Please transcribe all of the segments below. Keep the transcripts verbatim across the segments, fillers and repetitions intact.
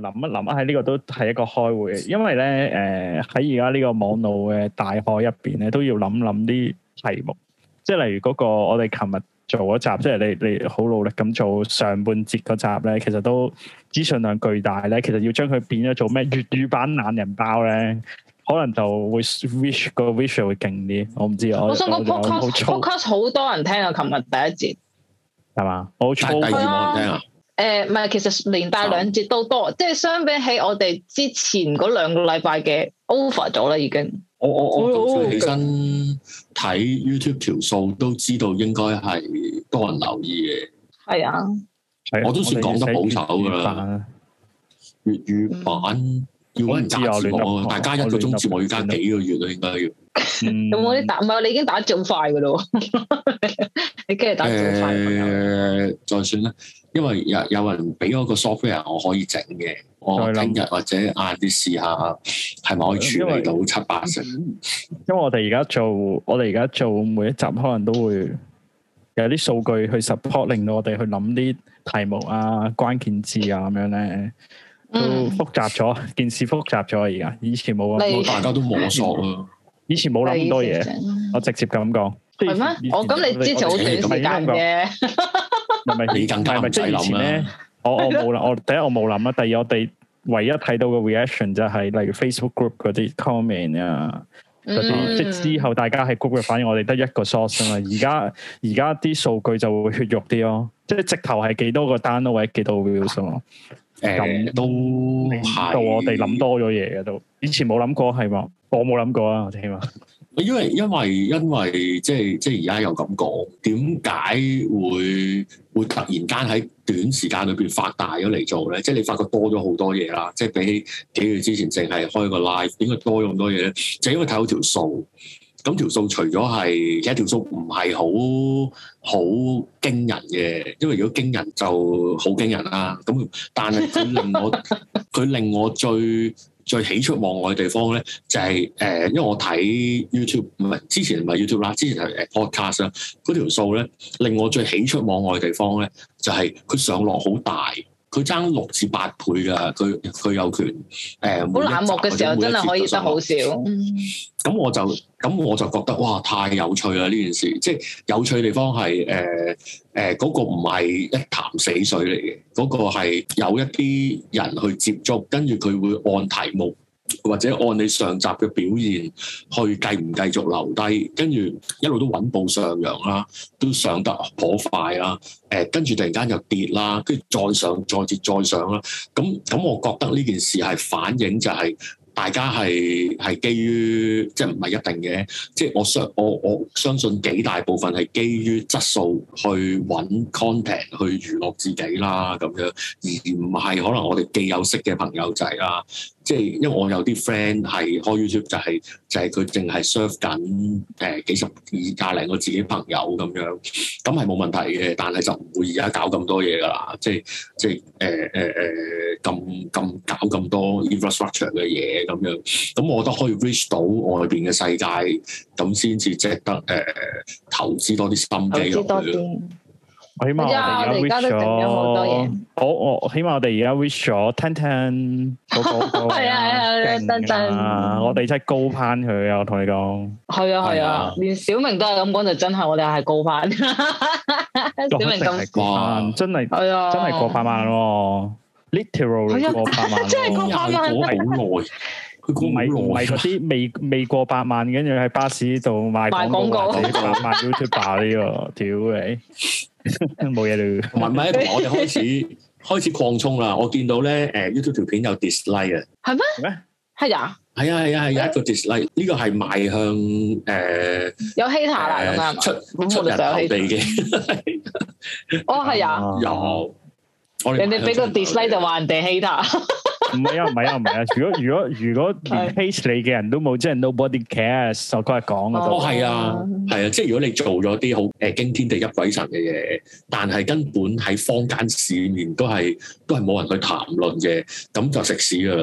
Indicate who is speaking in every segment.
Speaker 1: 諗一諗啊，喺呢個都係一個開會嘅，因為咧誒喺而家呢個網絡嘅大海入邊咧，都要諗諗啲題目，即係例如嗰個我哋琴日做嗰集，即係你你好努力咁做上半節嗰集咧，其實都資訊量巨大咧，其實要將佢變咗做咩粵語版懶人包咧，可能就會 wish 個 visual 會勁啲，我唔知啊。
Speaker 2: 我想講 podcast podcast 好多人聽啊，琴日第一節係
Speaker 1: 嘛？我
Speaker 3: 第二冇人聽啊。
Speaker 2: 誒唔係，其實連帶兩節都多，即係相比起我哋之前嗰兩個禮拜嘅 over 咗啦，已經。
Speaker 3: 我我我早上起身睇 YouTube 條數都知道應該係多人留意嘅。
Speaker 2: 係啊，
Speaker 3: 我都算講得保守㗎啦。粵語版要揾人加字幕，大家一個鐘節目要加幾個月啊，應該要。
Speaker 2: 有冇啲打？唔係你已經打字好快㗎咯，你跟住打字好快。
Speaker 3: 誒，再算啦。因為有有人俾咗個 software 我可以整嘅，我聽日或者晏啲試下係咪可以處理到七八成。
Speaker 1: 因為我哋而家做，我哋而家做每一集可能都會有啲數據去 support，令到我哋去諗啲題目啊、關鍵字啊咁樣咧，都複雜咗，嗯、件事複雜咗而家。以前冇咁，
Speaker 3: 大家都摸索啊。
Speaker 1: 以前冇諗咁多嘢，我直接咁講。
Speaker 2: 係咩？我咁你之前好短時間嘅。
Speaker 1: 係咪
Speaker 3: 你更加唔使諗咧？
Speaker 1: 我我冇諗，我第一我冇諗啦。第二我哋唯一睇到嘅 reaction 就係例如 Facebook group 嗰啲 comment 啊，嗰啲、嗯、即係之後大家喺 group 嘅反應，我哋得一個 source 啊嘛。而家而家啲數據就會血肉啲咯，即係直頭係幾多個 download 或者幾多 views 咯。誒、呃，都到我哋諗多咗嘢嘅都，以前冇諗過係嘛？我冇諗過啊，我起碼。
Speaker 3: 因為因為因為即係即係而家又咁講，點解會會突然間喺短時間裏邊發大咗嚟做咧？即係你發覺多咗好多嘢啦，即係比起幾個月之前淨係開個 live，點解多咗咁多嘢咧？就係因為睇到條數，咁條數除咗係其實條數唔係好好驚人嘅，因為如果驚人就好驚人啦。咁但係佢令我佢令我最最喜出望外嘅地方咧，就係、是、誒、呃，因為我睇 YouTube 唔係之前唔係 YouTube 啦，之前係誒 Podcast 啦，嗰條數咧令我最喜出望外嘅地方咧，就係、是、佢上落好大，佢爭六至八倍㗎，佢佢有權誒。好、呃、
Speaker 2: 冷漠嘅時候真係可以得好少。
Speaker 3: 咁我就咁我就覺得哇，太有趣啦！呢件事即係有趣嘅地方係誒誒嗰個唔係一潭死水嚟嘅，嗰、嗰個係有一啲人去接觸，跟住佢會按題目或者按你上集嘅表現去繼唔繼續留低，跟住一路都穩步上揚啦，都上得頗快啦。誒跟住突然間又跌啦，跟住再上再跌再上啦。咁咁，我覺得呢件事係反映就係、是。大家係係基於即係唔係一定嘅，即係我相我我相信幾大部分係基於質素去揾 content 去娛樂自己啦咁樣，而唔係可能我哋既有識嘅朋友仔啦。即係因為我有啲 friend 係開 YouTube 就係、是、就係佢淨係 serve 緊誒幾十二廿零個自己朋友咁樣，咁係冇問題嘅，但係就唔會而家搞咁多嘢㗎啦。即係即係誒誒誒咁咁搞咁多 infrastructure 嘅嘢咁樣，咁我覺得可以 reach 到外邊嘅世界，咁先至值得誒、呃、投資多啲心機落去。
Speaker 1: 我起碼我哋而家 reach 咗，我我起碼我哋而家 reach 咗 ten ten 嗰個係啊係啊，真真我哋真係高攀佢啊！我同你講，係
Speaker 2: 啊係啊，連小明都係咁講，就真係我哋係高攀。小明咁
Speaker 1: 高，真係係啊，真係過百萬喎 ，literally 過百萬，
Speaker 2: 真係過百萬，
Speaker 3: 好耐。
Speaker 1: 唔係唔係嗰啲未未過百萬，跟住喺巴士度賣廣告，或者賣 YouTuber 呢個，屌你冇嘢啦。
Speaker 3: 唔係唔係，同埋我哋開始開始擴充啦。我見到咧，誒 YouTube 條片有 dislike 啊，
Speaker 2: 係咩？咩？係啊，
Speaker 3: 係啊係啊係有一個 dislike，呢個係邁向誒
Speaker 2: 有 hater 啦咁啊，
Speaker 3: 出出人頭地嘅。
Speaker 2: 哦係啊，
Speaker 3: 有。
Speaker 2: 人哋俾個 dislike 就話人哋 hater。
Speaker 1: 唔係啊，唔係啊，唔係啊！如果如果如果連 hate 你嘅人都冇，即係 nobody cares。我嗰日講嘅都
Speaker 3: 哦，係啊，係啊，即係如果你做咗啲好誒驚天地泣鬼神嘅嘢，但係根本喺坊間市面都係都係冇人去談論嘅，咁就食屎噶啦！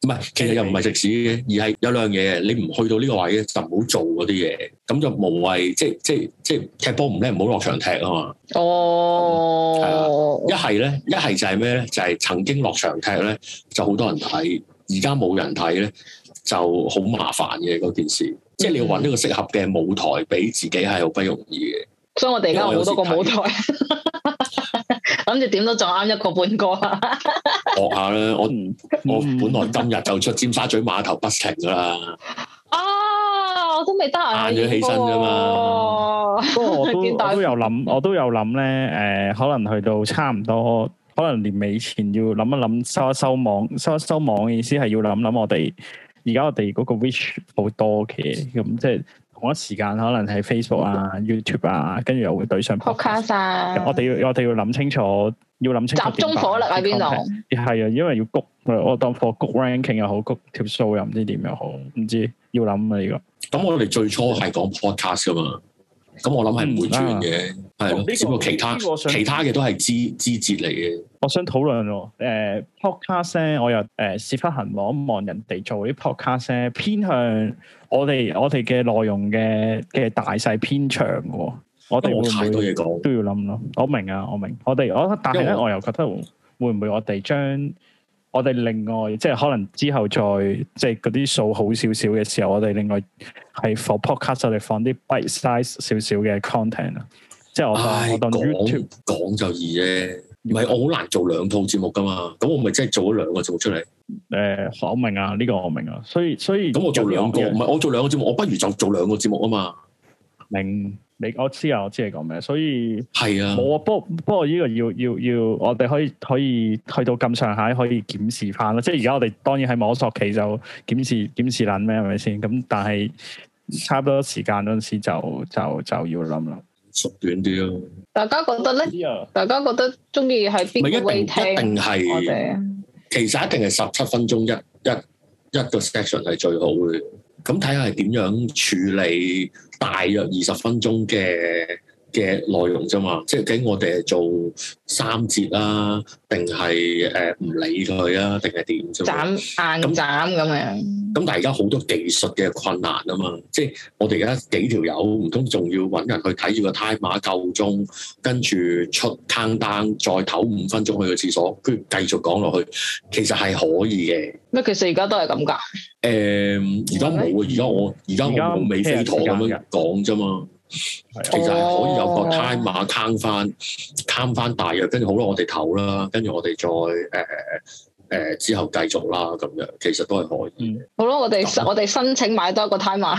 Speaker 3: 唔係，其實又唔係食屎嘅，而係有兩樣嘢，你唔去到呢個位咧，就唔好做嗰啲嘢，咁就無謂，即係即係即係踢波唔叻，唔好落場踢啊嘛。
Speaker 2: 哦，係
Speaker 3: 啊，一係咧，一係就係咩咧？就係、是、曾經落場踢咧，就好多人睇，而家冇人睇咧，就好麻煩嘅嗰件事。即係你要揾一個適合嘅舞台俾自己係好不容易嘅。所以我哋而家好多個舞台，諗住點都撞啱一個半個啊！學下啦，我我本來今日就出尖沙咀碼頭不停噶啦。啊，我都未得閒，晏咗起身啫嘛。
Speaker 1: 不過我都我都有諗，我都有諗咧。誒、呃，可能去到差唔多，可能年尾前要諗一諗收一收網，收一收網嘅意思係要諗諗我哋而家我哋嗰個 reach 好多嘅，咁即係。同一時間可能係 Facebook 啊、YouTube 啊，跟住又會對上
Speaker 2: Podcast 啊。
Speaker 1: 我哋要我哋要諗清楚，要諗清楚
Speaker 2: 集中火力喺邊度？
Speaker 1: 係啊，因為要谷我當課谷 ranking 又好，谷條數又唔知點又好，唔知要諗啊呢個。
Speaker 3: 咁我哋最初係講 podcast 噶嘛，咁我諗係唔會轉嘅，係咯。只不過其他其他嘅都係枝枝節嚟嘅。
Speaker 1: 我想討論喎，誒 podcast 咧，我又誒屎忽痕望一望人哋做啲 podcast 咧，偏向我哋我哋嘅內容嘅嘅大細偏長嘅，我哋會唔會
Speaker 3: 太多嘢講
Speaker 1: 都要諗咯？我明啊，我明，我哋我但係咧，我又覺得會唔會我哋將我哋另外即係可能之後再即係嗰啲數好少少嘅時候，我哋另外係 for podcast 我哋放啲 bite size 少少嘅 content 啊，即係我當我當 YouTube
Speaker 3: 講就易啫。唔係，我好難做兩套節目噶嘛，咁我咪即係做咗兩個節目出嚟。誒、
Speaker 1: 呃，我明啊，呢、這個我明啊，所以所以咁
Speaker 3: 我做兩個，唔係我做兩個節目，我不如就做兩個節目啊嘛。
Speaker 1: 明，你我知啊，我知你講咩，所以
Speaker 3: 係啊，
Speaker 1: 冇啊，不過不過呢個要要要，我哋可以可以去到咁上下可以檢視翻咯。即係而家我哋當然喺摸索期就檢視檢視撚咩係咪先？咁但係差唔多時間嗰陣時就就就要諗啦。
Speaker 3: 縮短啲咯。
Speaker 2: 大家覺得咧？大家覺得中意係邊個 way 聽？
Speaker 3: 一定係，其實一定係十七分鐘一一一個 section 係最好嘅。咁睇下係點樣處理大約二十分鐘嘅嘅內容啫嘛。即係究竟我哋係做三節啦，定係誒唔理佢啊，定係點啫？斬
Speaker 2: 硬斬咁樣。
Speaker 3: 咁但係而家好多技術嘅困難啊嘛，即係我哋而家幾條友唔通仲要揾人去睇住個 timer 夠鐘，跟住出 countdown，再唞五分鐘去個廁所，跟住繼續講落去，其實係可以嘅。
Speaker 2: 咩？其實而家都係咁㗎。
Speaker 3: 誒，而家冇啊！而家我而家我冇尾飛陀咁樣講啫嘛。其實係可以有個 timer count 翻 count 翻大約，跟住好啦，我哋唞啦，跟住我哋再誒。呃誒、呃，之後繼續啦，咁樣其實都係可以嘅。好咯，我哋
Speaker 2: 樣我哋申請買多一個 timer，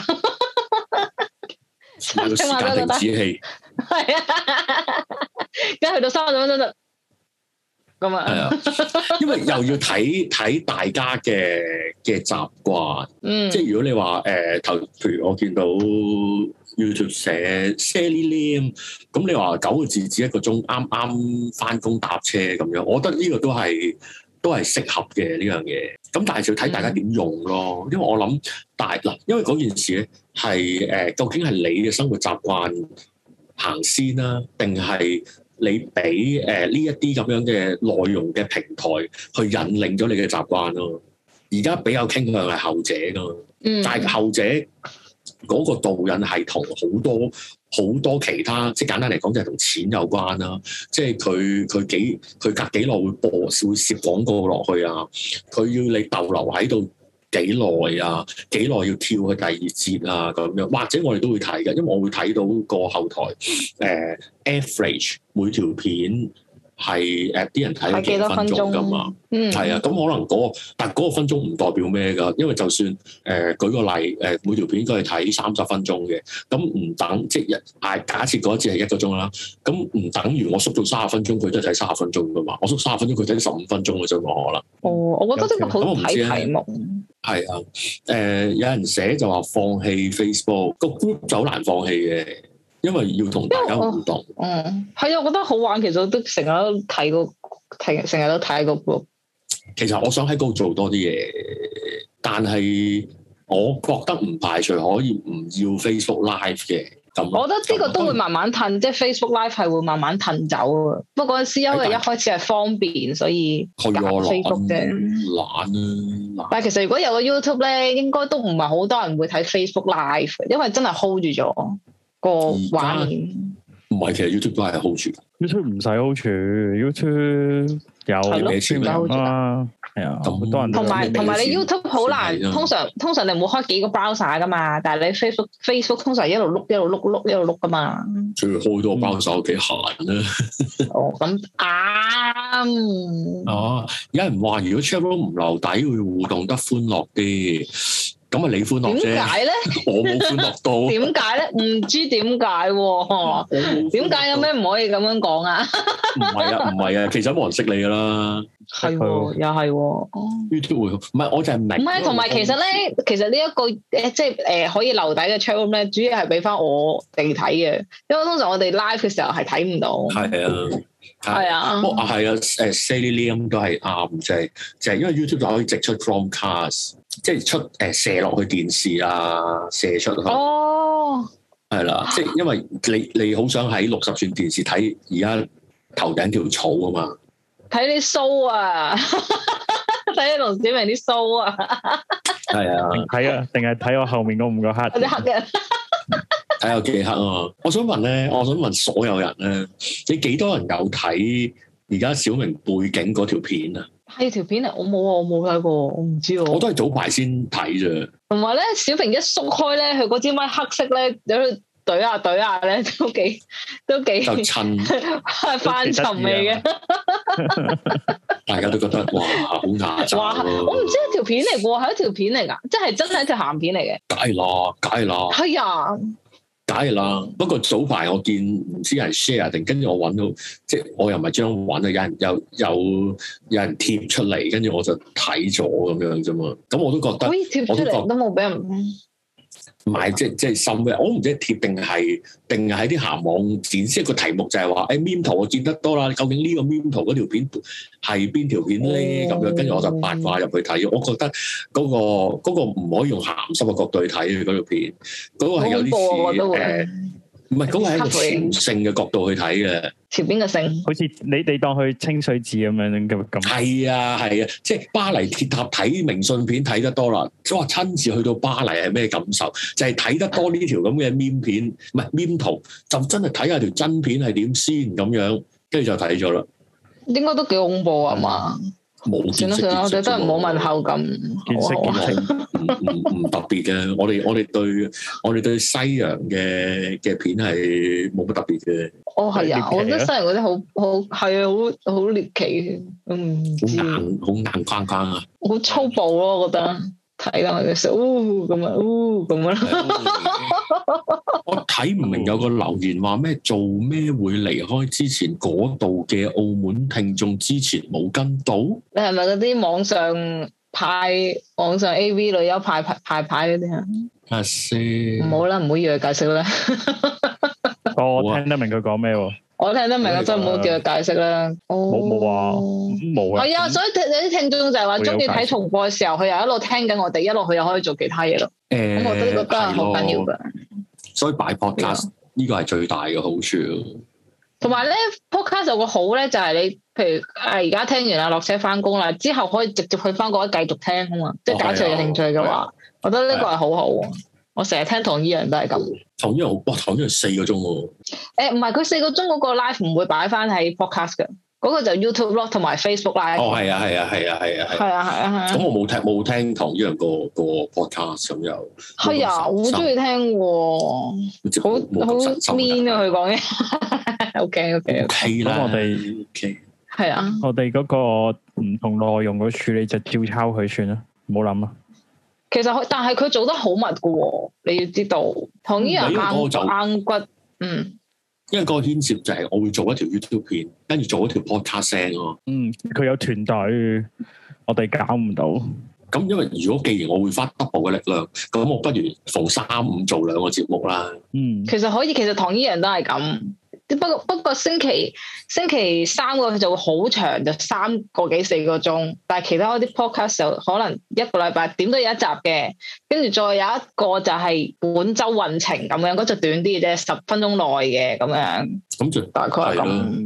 Speaker 3: 買個時間停止器。
Speaker 2: 係啊，而家去到三十分鐘就咁啊。係
Speaker 3: 啊，因為又要睇睇大家嘅嘅習慣。嗯，即係如果你話誒頭，譬如我見到 YouTube 寫 Sally Lam，咁你話九個字只一個鐘，啱啱翻工搭車咁樣，我覺得呢個都係。都係適合嘅呢樣嘢，咁但係就要睇大家點用咯。嗯、因為我諗大嗱，因為嗰件事咧係誒，究竟係你嘅生活習慣行先啦，定係你俾誒呢一啲咁樣嘅內容嘅平台去引領咗你嘅習慣咯。而家比較傾向係後者噶嘛，嗯、但係後者嗰個導引係同好多。好多其他，即係簡單嚟講，就係同錢有關啦。即係佢佢幾佢隔幾耐會播會攝廣告落去啊？佢要你逗留喺度幾耐啊？幾耐要跳去第二節啊？咁樣或者我哋都會睇嘅，因為我會睇到個後台誒、呃、average 每條片。係誒啲人睇咗幾多分鐘㗎嘛？嗯，係啊，咁可能嗰、那個，但係嗰個分鐘唔代表咩㗎？因為就算誒、呃、舉個例，誒、呃、每條片應該係睇三十分鐘嘅，咁唔等即係誒假設嗰一節係一個鐘啦，咁唔等於我縮到三十分鐘，佢都係睇三十分鐘㗎嘛？我縮三十分鐘，佢睇十五分鐘嘅啫嘛，可能。哦，我覺得呢個好睇題目。係啊，誒、呃、有人寫就話放棄 Facebook 個 group 就好難放棄嘅。因為要同大家互動，嗯，係啊，我覺得好玩。其實我都成日都睇過，睇成日都睇個 group。其實我想喺嗰度做多啲嘢，但係我覺得唔排除可以唔要 Facebook Live 嘅。咁，我覺得呢個都會慢慢褪，即係 Facebook Live 係會慢慢褪走啊。不過嗰陣時因為一開始係方便，所以揀 Facebook 啫。 懶啊！
Speaker 2: 但係其實如果有個 YouTube 咧，應該都唔係好多人會睇 Facebook Live，因為真係 hold 住咗個畫面。
Speaker 3: 唔係，其實 YouTube 都係 hold 住。
Speaker 1: YouTube 唔使 hold 住 ，YouTube 有
Speaker 2: 係
Speaker 1: 啊，係啊，好多人。
Speaker 2: 同埋同埋你 YouTube 好難，通常通常你唔會開幾個 browser 噶嘛，但係你 Facebook Facebook 通常一路碌一路碌碌一路碌噶嘛。
Speaker 3: 最開多個 browser 幾閒啊！
Speaker 2: 哦，咁啱。
Speaker 3: 哦，有人話如果 chatroom 唔留底會互動得歡樂啲。咁啊，你歡樂啫？
Speaker 2: 點解咧？
Speaker 3: 我冇歡樂到。
Speaker 2: 點解咧？唔知點解喎？點解有咩唔可以咁樣講啊？
Speaker 3: 唔係啊，唔係啊，其實冇人識你噶啦。
Speaker 2: 係，又係。
Speaker 3: YouTube 會唔係？我就係明。
Speaker 2: 唔係，同埋其實咧，其實呢一個誒，即係誒可以留底嘅 channel 咧，主要係俾翻我哋睇嘅，因為通常我哋 live 嘅時候係睇唔到。係
Speaker 3: 啊。
Speaker 2: 係啊，
Speaker 3: 不過啊係啊，誒 Sally Liam 都係啱，就係就係因為 YouTube 就可以直出 Chromecast，即係出誒射落去電視啊，射出去。哦，係啦，即係因為你你好想喺六十寸電視睇而家頭頂條草啊嘛，
Speaker 2: 睇啲鬚啊，睇啲龍小明啲鬚啊，係
Speaker 3: 啊，
Speaker 1: 睇啊，定係睇我後面嗰五個黑
Speaker 2: 啲黑嘅。
Speaker 3: 睇有幾黑啊！我想問咧，我想問所有人咧，你幾多人有睇而家小明背景嗰條片啊？
Speaker 2: 係條片啊，我冇啊，我冇睇過，我唔知喎。
Speaker 3: 我都係早排先睇啫。同
Speaker 2: 埋咧，小明一縮開咧，佢嗰支咪黑色咧，有啲懟下懟下咧，都幾都幾就襯係翻尋味嘅。
Speaker 3: 大家都覺得哇，好牙擦。
Speaker 2: 哇！我唔知係條片嚟喎，係一條片嚟㗎，即係真係一條鹹片嚟嘅。
Speaker 3: 梗係啦，梗係啦。係啊。梗係啦，不過早排我見唔知係 share 定，跟住我揾到，即係我又唔係將揾啊，有人有有有人貼出嚟，跟住我就睇咗咁樣啫嘛。咁我都覺得，
Speaker 2: 貼出嚟都冇俾人。
Speaker 3: 唔係，即係即係深嘅，我唔知係貼定係定係喺啲鹹網展示一個題目就係話，誒 meme 圖我見得多啦，究竟呢個 meme 圖嗰條片係邊條片咧？咁、哦、樣跟住我就八卦入去睇，我覺得嗰、嗰個嗰、嗰個唔可以用鹹濕嘅角度去睇嗰條片，嗰、嗰個係有啲似誒。唔係，嗰個係一個朝聖嘅角度去睇嘅。
Speaker 2: 朝邊個聖？
Speaker 1: 好似你哋當去清水寺咁樣咁咁。係
Speaker 3: 啊係啊，即係巴黎鐵塔睇明信片睇得多啦，即係話親自去到巴黎係咩感受？就係、是、睇得多呢條咁嘅 meme 片，唔係 meme 圖，就真係睇下條真片係點先咁樣，跟住就睇咗啦。
Speaker 2: 應該都幾恐怖啊嘛！冇見識，我哋都係唔好問候咁。
Speaker 1: 見識見識，
Speaker 3: 唔唔唔特別嘅。我哋我哋對我哋對西洋嘅嘅片係冇乜特別嘅。
Speaker 2: 哦，係啊，我覺得西洋嗰啲好好係啊，好好獵奇，嗯，
Speaker 3: 好硬好硬框框啊，
Speaker 2: 好粗暴咯，我覺得睇啦，嘅時候，嗚咁啊，嗚咁樣。
Speaker 3: 我睇唔明有個留言話咩做咩會離開之前嗰度嘅澳門聽眾之前冇跟到？
Speaker 2: 你係咪嗰啲網上派網上 A V 女優派派派派嗰啲啊？
Speaker 3: 阿師，
Speaker 2: 唔好啦，唔好要佢解釋啦。
Speaker 1: 我聽得明佢講咩喎？
Speaker 2: 我聽得明，我真係唔好叫佢解釋啦。
Speaker 1: 冇冇話冇啊？
Speaker 2: 係啊，所以有啲聽眾就係話中意睇重播嘅時候，佢又一路聽緊我哋，一路佢又可以做其他嘢咯。誒、欸，咁我覺得呢個都係好緊要㗎。
Speaker 3: 所以擺 podcast 呢個係最大嘅好處。
Speaker 2: 同埋咧 podcast 有個好咧，就係你譬如誒而家聽完啦，落車翻工啦，之後可以直接去翻嗰一繼續聽啊嘛。即係假設有興趣嘅話，我覺得呢個係好好。我成日聽唐依陽都係咁。唐依陽好，哇！唐依陽四個鐘喎。誒唔係，佢四個鐘嗰個 live 唔會擺翻喺 podcast 嘅，嗰、嗰個就 YouTube 咯，同埋 Facebook live。哦，係啊，係啊，係啊，係啊，係。係啊，係啊，係啊。咁我冇聽冇聽唐依陽個個 podcast 咁又。係啊，好中意聽喎。好好 mean 啊！佢講嘢。OK OK OK。
Speaker 1: 咁我哋 OK。
Speaker 2: 係啊。
Speaker 1: 我哋嗰個唔同內容嘅處理就照抄佢算啦，唔好諗啊。
Speaker 2: 其實但係佢做得好密噶喎，你要知道，唐依陽硬硬骨，嗯，
Speaker 3: 因為嗰個牽涉就係我會做一條 YouTube 片，跟住做一條 podcast 聲咯。
Speaker 1: 嗯，佢有團隊，我哋搞唔到。
Speaker 3: 咁因為如果既然我會花 double 嘅力量，咁我不如逢三五做兩個節目啦。
Speaker 2: 嗯，其實可以，其實唐依陽都係咁。不過不過星期星期三個就會好長，就三個幾四個鐘，但係其他嗰啲 podcast 就可能一個禮拜點都有一集嘅，跟住再有一個就係本周運程咁樣，嗰就短啲嘅啫，十分鐘內嘅咁樣。咁就大概係咁。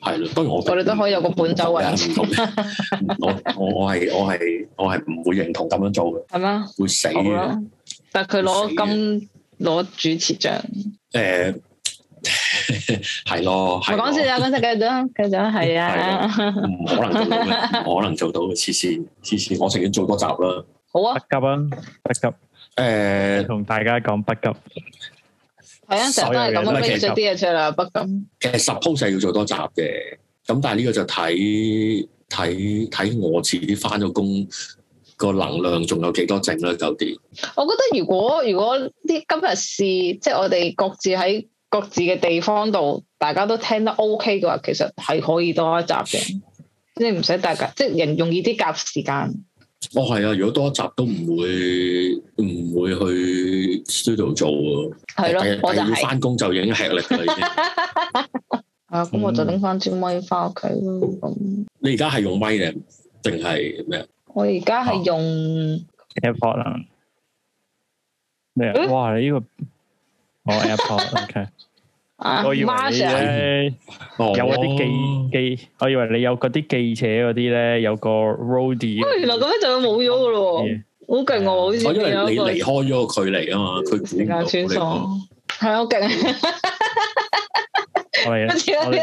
Speaker 3: 係咯，當然我
Speaker 2: 我哋都可以有個本周運。
Speaker 3: 唔同我我我係我係我係唔會認同咁樣做嘅。係
Speaker 2: 咩？
Speaker 3: 會死嘅。
Speaker 2: 但係佢攞金攞主持獎。誒，
Speaker 3: 係咯。唔
Speaker 2: 講笑啊！講笑，繼續，繼續係啊。
Speaker 3: 唔可能做到嘅，唔可能做到嘅，黐線黐線，我情願做多集啦。
Speaker 2: 好啊。
Speaker 1: 不急啊，不急。誒，同大家講不急。
Speaker 2: 係啊，成日都係咁樣拎咗啲嘢出嚟，不咁。
Speaker 3: 其實 suppose 係要做多集嘅，咁但係呢個就睇睇睇我自己翻咗工個能量仲有幾多剩啦，九點。
Speaker 2: 我覺得如果如果啲今日試，即係我哋各自喺各自嘅地方度，大家都聽得 OK 嘅話，其實係可以多一集嘅，即係唔使大家即係人容易啲夾時間。
Speaker 3: 哦，係啊！如果多一集都唔會唔會去 studio 做喎，
Speaker 2: 係咯，我就係
Speaker 3: 要翻工就已經吃力㗎啦，已經。
Speaker 2: 啊，咁我就拎翻支咪翻屋企咯。咁
Speaker 3: 你而家係用咪定定係咩啊？
Speaker 2: 我而家係用
Speaker 1: AirPod 啊。咩啊？哇！你呢個我 AirPod，OK。我以為你咧有嗰啲記記，我以為你有嗰啲記者嗰啲咧，有個 roadie。
Speaker 2: 原來咁樣就冇咗噶咯，好勁喎！好似
Speaker 3: 因為你離開咗個距離啊嘛，佢估唔到你講。
Speaker 2: 係好勁。
Speaker 1: 我哋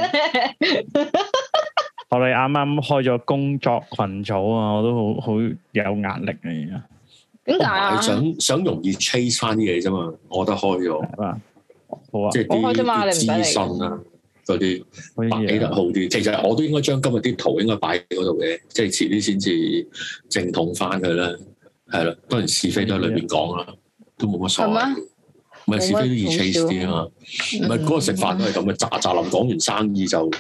Speaker 1: 我哋啱啱開咗工作群組啊，我都好好有壓力啊！而家
Speaker 2: 點解啊？
Speaker 3: 想想容易 chase 翻啲嘢啫嘛，我覺得開咗。
Speaker 1: 好啊，
Speaker 3: 即係啲資訊啊，嗰啲擺起得好啲。其實我都應該將今日啲圖應該擺喺嗰度嘅，即係遲啲先至正統翻佢啦。係啦，當然是非都喺裏邊講啦，都冇乜所謂。唔係是非都易 chase 啲啊嘛。唔係嗰個食飯都係咁嘅，喳喳臨講完生意就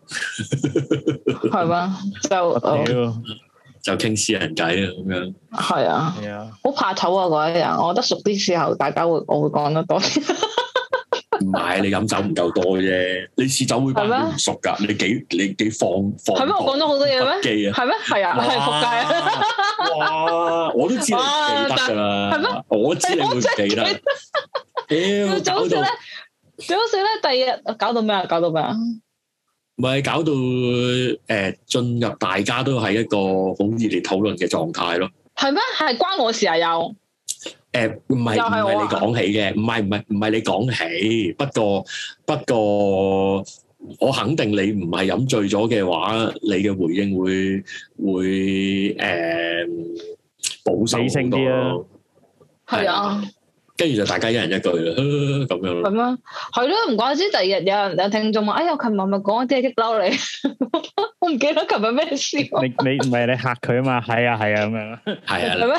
Speaker 2: 係嘛，就
Speaker 3: 就傾私人偈啊咁樣。
Speaker 2: 係啊，
Speaker 1: 係啊，
Speaker 2: 好怕醜啊嗰一日。我覺得熟啲時候，大家會我會講得多。
Speaker 3: 唔係你飲酒唔夠多啫，你試酒會班都唔熟噶，你幾你幾放放
Speaker 2: 係咩？我講咗好多嘢咩？
Speaker 3: 記啊，
Speaker 2: 係咩？係啊，係仆街啊！
Speaker 3: 哇，我都知你唔記得噶啦，係咩？我知你會唔記得。屌，
Speaker 2: 最好笑咧，最好笑咧，第二日搞到咩啊？搞到咩啊？
Speaker 3: 唔係搞到誒，進入大家都係一個好熱烈討論嘅狀態咯。
Speaker 2: 係咩？係關我事啊？有。
Speaker 3: 誒，唔係唔係你講起嘅，唔係唔係唔係你講起，不過不過我肯定你唔係飲醉咗嘅話，你嘅回應會會誒保守好多咯。
Speaker 2: 係啊，
Speaker 3: 跟住就大家一人一句啦，咁樣咯。
Speaker 2: 係咩？係咯，唔怪之第二日有人有聽眾話：哎呀，琴日咪講啲嘢激嬲你，我唔記得琴日咩事。你
Speaker 1: 你唔係你嚇佢啊嘛？係啊係啊咁樣。係
Speaker 3: 啊。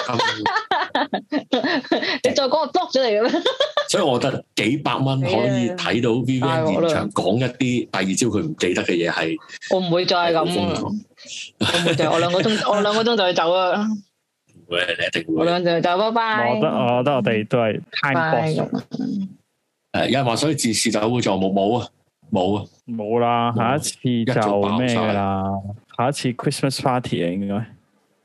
Speaker 2: 你再講我 block 咗你嘅咩？
Speaker 3: 所以我覺得幾百蚊可以睇到 Vivian 現場講一啲第二朝佢唔記得嘅嘢係。我唔會再係咁啊！我唔會再，我兩個鐘，我兩個鐘就去走啦。會，你一定會。我兩個鐘就走，拜拜。
Speaker 1: 我覺得，我覺得我哋都係 time box。
Speaker 3: 誒，有人話所以自試酒會做冇冇啊？冇啊！
Speaker 1: 冇啦，下一次就咩噶啦？下一次 Christmas party 啊，應該。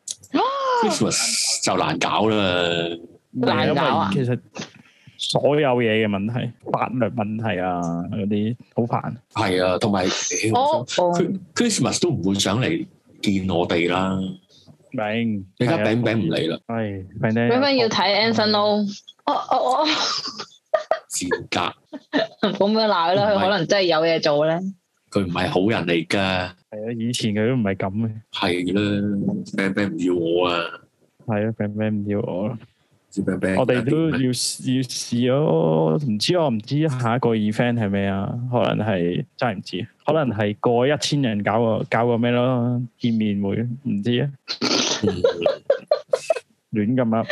Speaker 3: Christmas 就難搞啦，
Speaker 2: 難搞啊！
Speaker 1: 其實所有嘢嘅問題，法律問題啊，嗰啲好煩。係
Speaker 3: 啊，同埋 Christmas 都唔會上嚟見我哋啦。
Speaker 1: 明，
Speaker 3: 你而家餅餅唔嚟啦。
Speaker 1: 係，
Speaker 2: 餅餅要睇 Anson 咯。哦哦哦，
Speaker 3: 賤格。
Speaker 2: 咁樣鬧啦，佢可能真係有嘢做咧。
Speaker 3: 佢唔係好人嚟噶，
Speaker 1: 係啊，以前佢都唔係咁嘅。係
Speaker 3: 啦，餅餅唔要我啊，
Speaker 1: 係啊，餅餅唔要我咯。
Speaker 3: 餅餅，
Speaker 1: 我哋都要要試咯，唔知我唔知下一個 event 係咩啊？可能係真係唔知，可能係過一千人搞個搞個咩咯？見面會唔知啊？亂咁啊！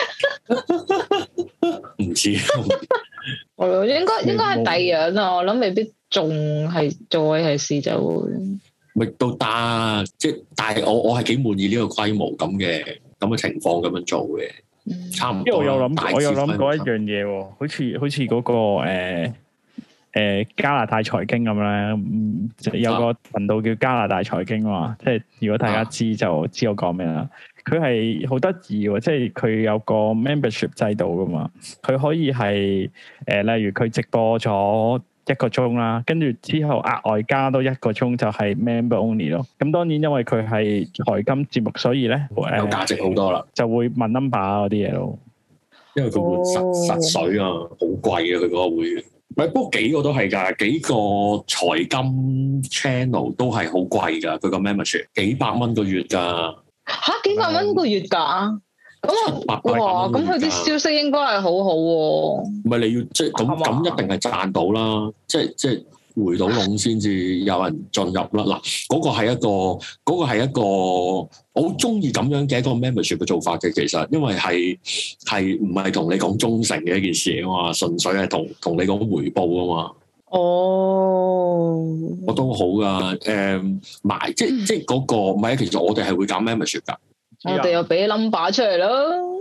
Speaker 1: 唔知。
Speaker 2: 我應該應該係第二樣啊，我諗未必。仲係再係試就會，
Speaker 3: 咪都得，即係但係我我係幾滿意呢個規模咁嘅咁嘅情況咁樣做嘅，嗯、差唔多。因為我有諗，
Speaker 1: 我有諗過一樣嘢喎，好似好似嗰個誒、呃呃、加拿大財經咁咧、嗯，有個頻道叫加拿大財經嘛，即係如果大家知就知我講咩啦。佢係好得意喎，即係佢有個 membership 制度噶嘛，佢可以係誒、呃、例如佢直播咗一個鐘啦，跟住之後額外加多一個鐘就係 member only 咯。咁當然因為佢係財金節目，所以咧
Speaker 3: 有價值好多啦，
Speaker 1: 就會問 number 嗰啲嘢咯。
Speaker 3: 因為佢換實、oh. 實水啊，好貴啊，佢嗰個會員。唔係，不過幾個都係㗎，幾個財金 channel 都係好貴㗎，佢個 membership 幾百蚊個月㗎。
Speaker 2: 嚇，幾百蚊個月㗎？咁啊，哇！咁佢啲消息應該係好好喎。唔
Speaker 3: 係你要即係咁咁一定係賺到啦，即係即係回到籠先至有人進入啦。嗱，嗰個係一個嗰個係一個我好中意咁樣嘅一個 membership 嘅做法嘅，其實因為係係唔係同你講忠誠嘅一件事啊嘛，純粹係同同你講回報啊嘛。哦，我都好噶，誒買即即係嗰個唔係啊，其實我哋係會搞 membership 㗎。
Speaker 2: 我哋又俾 number 出嚟咯，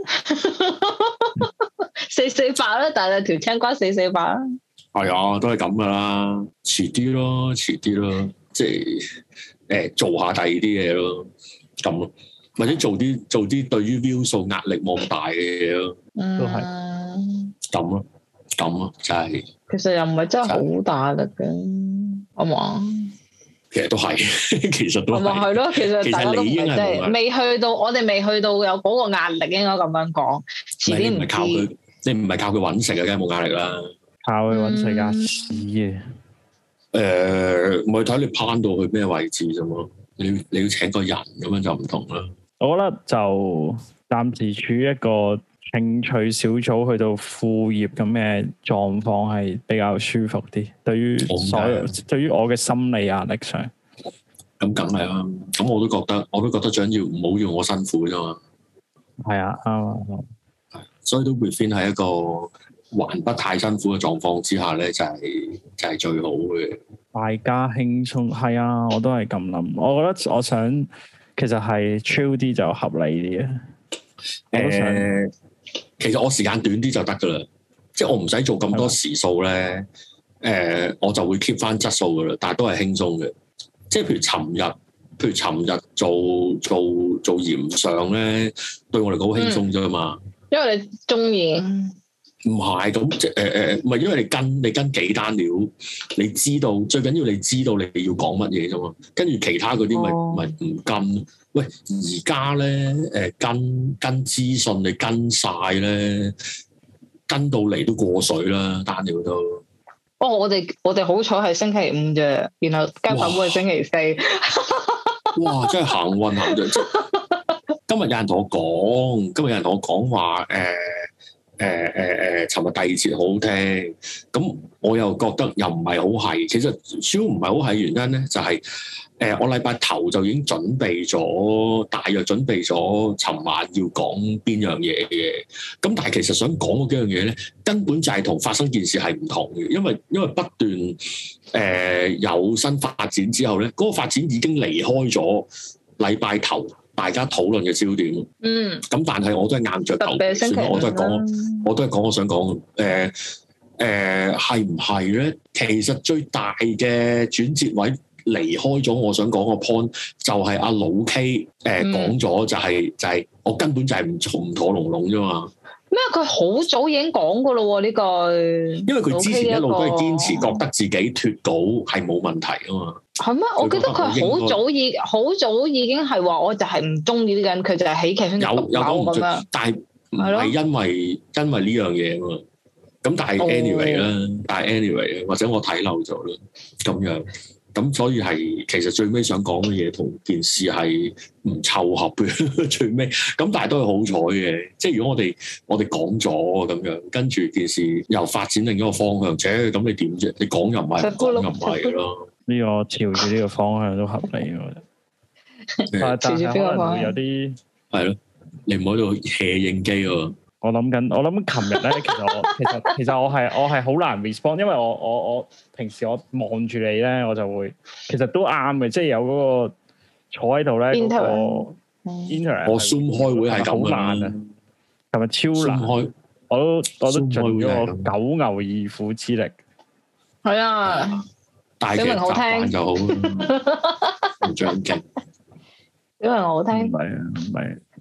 Speaker 2: 四四八啦，但係條青瓜四四八啦。
Speaker 3: 係啊，都係咁噶啦，遲啲咯，遲啲咯，即係誒、欸、做下第二啲嘢咯，咁咯，或者做啲做啲對於 view 數壓力冇咁大嘅嘢咯，都係咁咯，咁咯，就係、是。
Speaker 2: 其實又唔係真係好大力嘅，好嘛？
Speaker 3: 其實都係，其實都係。係咯，
Speaker 2: 其實大家都唔係即係未去到，我哋未去到有嗰個壓力，應該咁樣講。遲啲唔係
Speaker 3: 靠佢，你唔係靠佢揾食嘅，梗係冇壓力啦。
Speaker 1: 靠佢揾食啊屎嘅。
Speaker 3: 誒，咪睇你攀到去咩位置啫嘛？你你要請個人咁樣就唔同啦。
Speaker 1: 我覺得就暫時處於一個興趣小組去到副業咁嘅狀況係比較舒服啲，對於所有對於我嘅心理壓力上，
Speaker 3: 咁梗係啦。咁我都覺得，我都覺得最緊要唔好要我辛苦啫嘛。
Speaker 1: 係啊，啱啊，
Speaker 3: 所以都 within 喺一個還不太辛苦嘅狀況之下咧，就係、是、就係、是、最好嘅。大
Speaker 1: 家輕鬆係啊，我都係咁諗。我覺得我想其實係 chill 啲就合理啲啊。我都想。呃
Speaker 3: 其實我時間短啲就得噶啦，即係我唔使做咁多時數咧，誒、呃，我就會 keep 翻質素噶啦，但係都係輕鬆嘅。即係譬如尋日，譬如尋日做做做鹽上咧，對我嚟講好輕鬆啫嘛。
Speaker 2: 因為你中意。
Speaker 3: 唔係咁即係誒誒，唔係因為你跟你跟幾單料，你知道最緊要你知道你要講乜嘢啫嘛。跟住其他嗰啲咪咪唔跟。喂，而家咧誒跟跟資訊你跟晒咧，跟到嚟都過水啦，單料都。
Speaker 2: 哦，我哋我哋好彩係星期五啫，然後交粉會係星期四。
Speaker 3: 哇！哇真係行運行咗。今日有人同我講，今日有人同我講話誒。呃誒誒誒，尋、呃、日第二節好好聽，咁我又覺得又唔係好係，其實主要唔係好係原因咧，就係、是、誒、呃、我禮拜頭就已經準備咗，大約準備咗尋晚要講邊樣嘢嘅，咁但係其實想講嗰幾樣嘢咧，根本就係同發生件事係唔同嘅，因為因為不斷誒、呃、有新發展之後咧，嗰、那個發展已經離開咗禮拜頭大家討論嘅焦點，嗯，咁但係我都係硬着頭皮，算啦，我都係講，我都係講我想講，誒誒係唔係咧？其實最大嘅轉折位離開咗，我想講個 point 就係阿老 K 誒講咗，就係、是、就係、是、我根本就係唔從唔妥龍龍啫嘛。
Speaker 2: 咩？佢好早已經講過咯喎呢句，
Speaker 3: 因為佢之前一路都係堅持覺得自己脫稿係冇問題啊嘛。
Speaker 2: 係咩？我記得佢好早已好早已經係話，我就係唔中意呢個人，佢就係喜劇圈獨有咁樣。
Speaker 3: 但係唔係因為因為呢樣嘢啊嘛。咁但係 anyway 啦、哦，但係 anyway 或者我睇漏咗啦，咁樣。咁所以係其實最尾想講嘅嘢同件事係唔湊合嘅最尾，咁但係都係好彩嘅。即係如果我哋我哋講咗咁樣，跟住件事又發展另一個方向，且咁你點啫？你講又唔係，講又唔係咯。呢
Speaker 1: 個朝住呢個方向都合理，我覺得。但係可能會有啲
Speaker 3: 係咯，你唔好喺度 hea 應機喎。
Speaker 1: 我諗緊，我諗琴日咧，其實我其實其實我係我係好難 respond，因為我我我平時我望住你咧，我就會其實都啱嘅，即係有嗰個坐喺度咧嗰個 interact。
Speaker 3: 我 Zoom 開會係咁
Speaker 1: 難啊，係咪超難？開我都我都盡咗我九牛二虎之力。
Speaker 2: 係啊，
Speaker 3: 大嘅習慣就好，唔長勁。
Speaker 2: 因為我好聽。
Speaker 1: 唔係啊，唔係。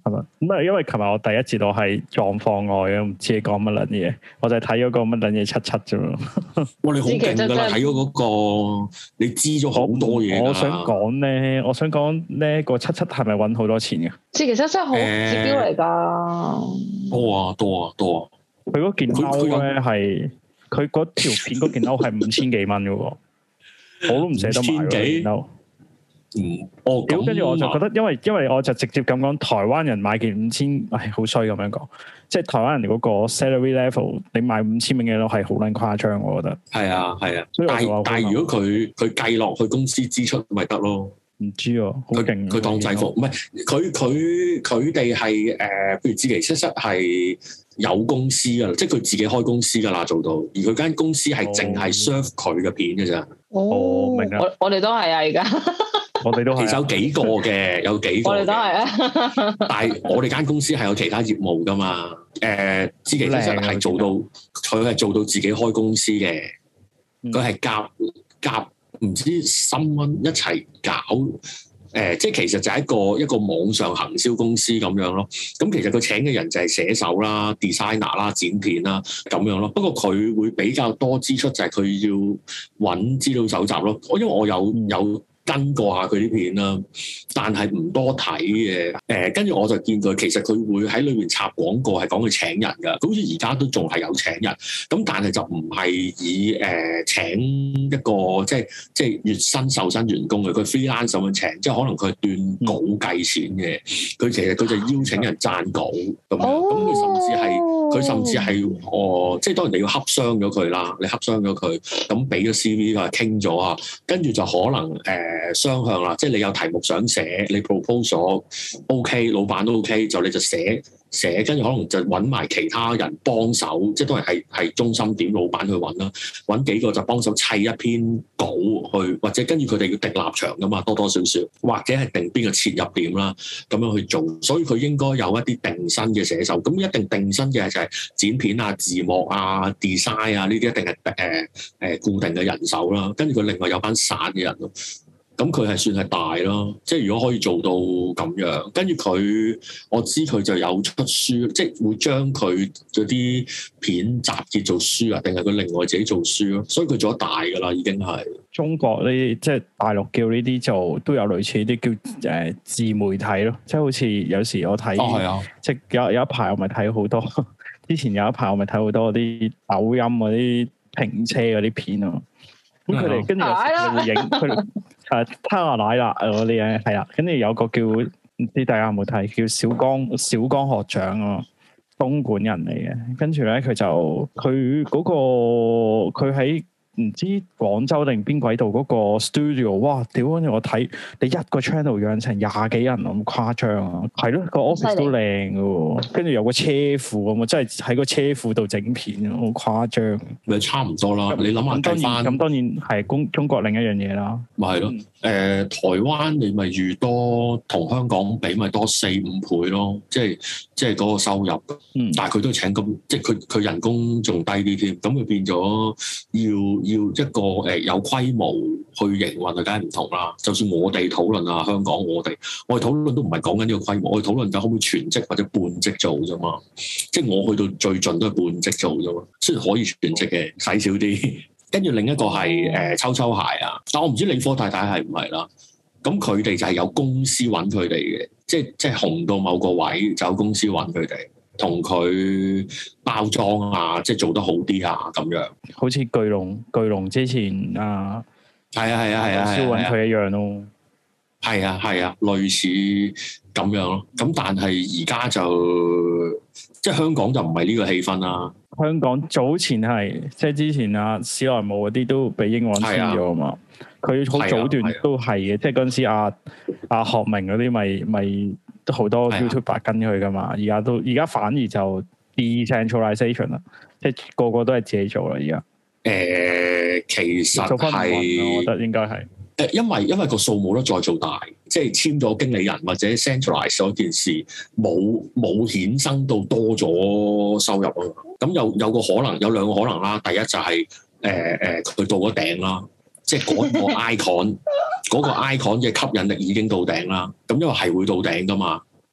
Speaker 1: 係咪？咁啊，因為琴日我第一節我係狀況外啊，唔知你講乜撚嘢，我就係睇咗個乜撚嘢七七啫嘛。
Speaker 3: 哇！你好勁㗎啦，睇咗嗰個，你知咗好多嘢。
Speaker 1: 我想講咧，我想講咧個七七係咪揾好多錢嘅？
Speaker 2: 其實真係好指標嚟㗎。
Speaker 3: 多啊多啊多啊！
Speaker 1: 佢嗰件褸咧係，佢嗰條片嗰件褸係五千幾蚊嘅喎，我都唔捨得買嗰件褸。
Speaker 3: 嗯，哦，
Speaker 1: 咁跟住我就覺得，因為因為我就直接咁講，台灣人買件五千，唉，好衰咁樣講，即係台灣人嗰個 salary level，你買五千蚊嘅咯，係好撚誇張，我覺得。係
Speaker 3: 啊，係啊，但係但係如果佢佢計落去公司支出，咪得咯？唔
Speaker 1: 知啊，好勁！
Speaker 3: 佢當制服，唔係佢佢佢哋係誒，譬如志祺七七係有公司噶啦，即係佢自己開公司噶啦，做到，而佢間公司係淨係 serve 佢嘅片嘅咋。
Speaker 2: 哦，明啊！我我哋都係啊，而家。
Speaker 1: 我哋都係，
Speaker 3: 其實有幾個嘅，有幾個。我哋都係
Speaker 2: 啊。
Speaker 3: 但係我哋間公司係有其他業務噶嘛？誒、呃，志祺七七係做到，佢係做到自己開公司嘅。佢係夾夾唔知三蚊一齊搞。誒、呃，即係其實就係一個一個網上行銷公司咁樣咯。咁其實佢請嘅人就係寫手啦、designer 啦、剪片啦咁樣咯。不過佢會比較多支出，就係佢要揾資料搜集咯。我因為我有有。跟過下佢啲片啦，但係唔多睇嘅。誒、呃，跟住我就見佢，其實佢會喺裏面插廣告，係講佢請人㗎。佢好似而家都仲係有請人，咁但係就唔係以誒、呃、請一個即係即係月薪受薪員工嘅，佢 freelance 咁樣請，即係可能佢係斷稿計錢嘅。佢其實佢就邀請人撰稿咁樣，咁佢甚至係佢甚至係哦，即係當然你要洽商咗佢啦，你洽商咗佢，咁俾咗 C V 佢傾咗啊，跟住就可能誒。呃誒雙向啦，即係你有題目想寫，你 proposal OK，老闆都 OK，就你就寫寫，跟住可能就揾埋其他人幫手，即係都係係係中心點，老闆去揾啦，揾幾個就幫手砌一篇稿去，或者跟住佢哋要定立場噶嘛，多多少少，或者係定邊個切入點啦，咁樣去做，所以佢應該有一啲定薪嘅寫手，咁一定定薪嘅就係剪片啊、字幕啊、design 啊呢啲一定係誒誒固定嘅人手啦，跟住佢另外有班散嘅人咯。咁佢係算係大咯，即係如果可以做到咁樣，跟住佢，我知佢就有出書，即係會將佢嗰啲片集結做書啊，定係佢另外自己做書咯，所以佢做得大噶啦，已經係。中國呢，即係大陸叫呢啲做都有類似啲叫誒自媒體咯，即係好似有時我睇，哦係啊，即係有有一排我咪睇好多，之前有一排我咪睇好多啲抖音嗰啲評車嗰啲片啊。咁佢哋跟住有時會影佢哋誒他話奶啦嗰啲嘢係啦，跟住有個叫唔知大家有冇睇叫小江小江學長啊，東莞人嚟嘅，跟住咧佢就佢嗰個佢喺唔知廣州定邊鬼度嗰個 studio， 哇！屌，跟住我睇你一個 channel 養成廿幾人咁誇張啊，係咯，個 office 都靚嘅喎，跟住有個車庫咁啊，真係喺個車庫度整片，好誇張。咪差唔多啦，你諗下計翻。咁當然係中中國另一樣嘢啦。咪係咯，誒、呃、台灣你咪預多同香港比咪多四五倍咯，即係即係嗰個收入。嗯。但係佢都請咁，即係佢佢人工仲低啲添，咁佢變咗要。要一個誒有規模去營運，就梗係唔同啦。就算我哋討論啊，香港我哋我哋討論都唔係講緊呢個規模，我哋討論緊可唔可以全職或者半職做啫嘛。即係我去到最盡都係半職做啫嘛。雖然可以全職嘅，使少啲。跟住另一個係誒抽抽鞋啊，但我唔知理科太太係唔係啦。咁佢哋就係有公司揾佢哋嘅，即係即係紅到某個位就有公司揾佢哋。同佢包裝啊，即係做得好啲啊，咁樣。好似巨龍，巨龍之前啊，係啊係啊係啊，燒揾佢一樣咯。係啊係啊，類似咁樣咯。咁但係而家就即係香港就唔係呢個氣氛啦。香港早前係即係之前啊，史萊姆嗰啲都俾英皇簽咗啊嘛。佢好早段都係嘅，即係嗰陣時阿阿學明嗰啲咪咪。都好多 YouTuber 跟佢噶嘛，而家都而家反而就 decentralization 啦，即係個個都係自己做啦。而家誒，其實係我覺得應該係誒，因為因為個數冇得再做大，即係簽咗經理人或者 centralize 嗰件事，冇冇衍生到多咗收入啊。咁有有個可能，有兩個可能啦。第一就係誒誒，佢到咗頂啦。即係嗰個 icon，嗰個 icon 嘅吸引力已經到頂啦。咁因為係會到頂噶嘛。